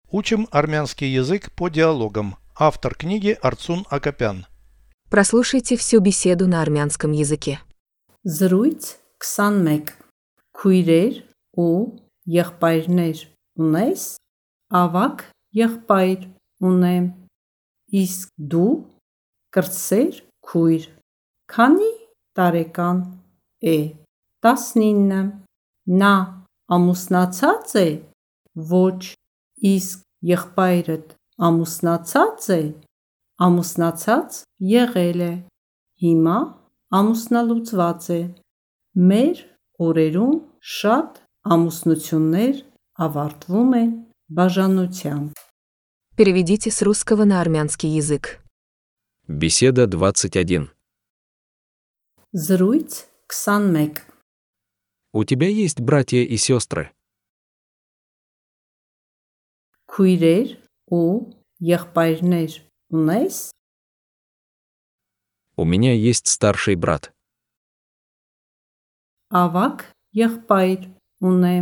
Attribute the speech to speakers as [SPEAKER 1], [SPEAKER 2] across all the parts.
[SPEAKER 1] Учим армянский язык по диалогам. Автор книги Арцун Акопян.
[SPEAKER 2] Прослушайте всю беседу на армянском языке.
[SPEAKER 3] Զրույց 21 Քույրեր ու եղբայրներ ունես? Ավագ եղբայր ունեմ, իսկ դու կրտսեր քույր, քանի տարեկան է? 19 Նա ամուսնացած է? Ոչ, իսկ եղբայրդ ամուսնացած է? Ամուսնացած եղել է, հիմա ամուսնալուծված է։ Մեր օրերում շատ ամուսնություններ ավարտվում են բաժանությամբ։
[SPEAKER 2] Переведите с русского на армянский язык.
[SPEAKER 4] Беседа 21.
[SPEAKER 3] Զրույց 21
[SPEAKER 4] У тебя есть братья и сестры?
[SPEAKER 3] Քույրեր ու եղբայրներ ունես?
[SPEAKER 4] У меня есть старший брат.
[SPEAKER 3] Ավագ եղբայր ունեմ,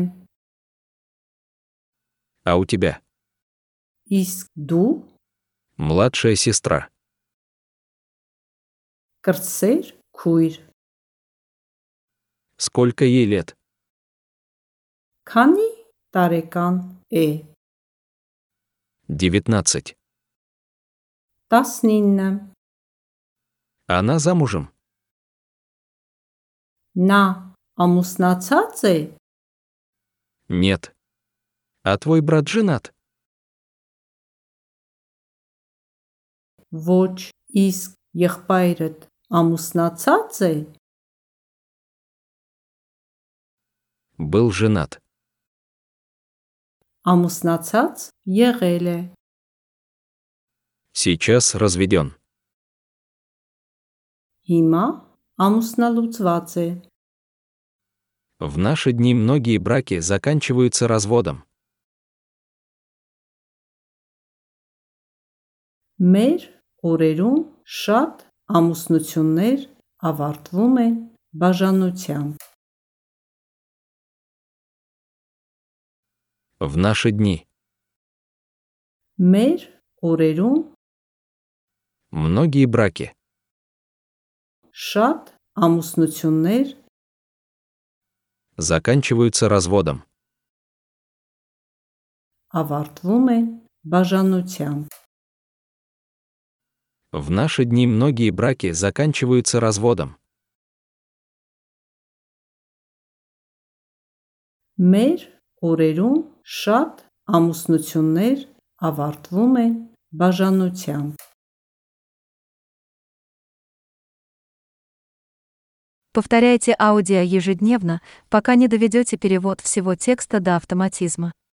[SPEAKER 4] А у тебя?
[SPEAKER 3] իսկ դու
[SPEAKER 4] Младшая сестра.
[SPEAKER 3] կրտսեր քույր,
[SPEAKER 4] Сколько ей лет?
[SPEAKER 3] քանի տարեկան է?
[SPEAKER 4] 19.
[SPEAKER 3] 19
[SPEAKER 4] Она замужем?
[SPEAKER 3] Նա ամուսնացած է?
[SPEAKER 4] Нет. А твой брат женат?
[SPEAKER 3] Ոչ, իսկ եղբայրդ ամուսնացած է?
[SPEAKER 4] Был женат.
[SPEAKER 3] Ամուսնացած եղել է,
[SPEAKER 4] Сейчас разведен.
[SPEAKER 3] հիմա ամուսնալուծված է։
[SPEAKER 4] В наши дни многие браки заканчиваются разводом.
[SPEAKER 3] Մեր օրերում շատ ամուսնություններ ավարտվում են բաժանությամբ։
[SPEAKER 4] В наши дни
[SPEAKER 3] Մեր օրերում
[SPEAKER 4] многие браки
[SPEAKER 3] շատ ամուսնություններ
[SPEAKER 4] заканчиваются разводом.
[SPEAKER 3] ավարտվում են բաժանությամբ։
[SPEAKER 4] В наши дни многие браки заканчиваются разводом.
[SPEAKER 3] Մեր օրերում շատ ամուսնություններ ավարտվում են բաժանությամբ։
[SPEAKER 5] Повторяйте аудио ежедневно, пока не доведете перевод всего текста до автоматизма.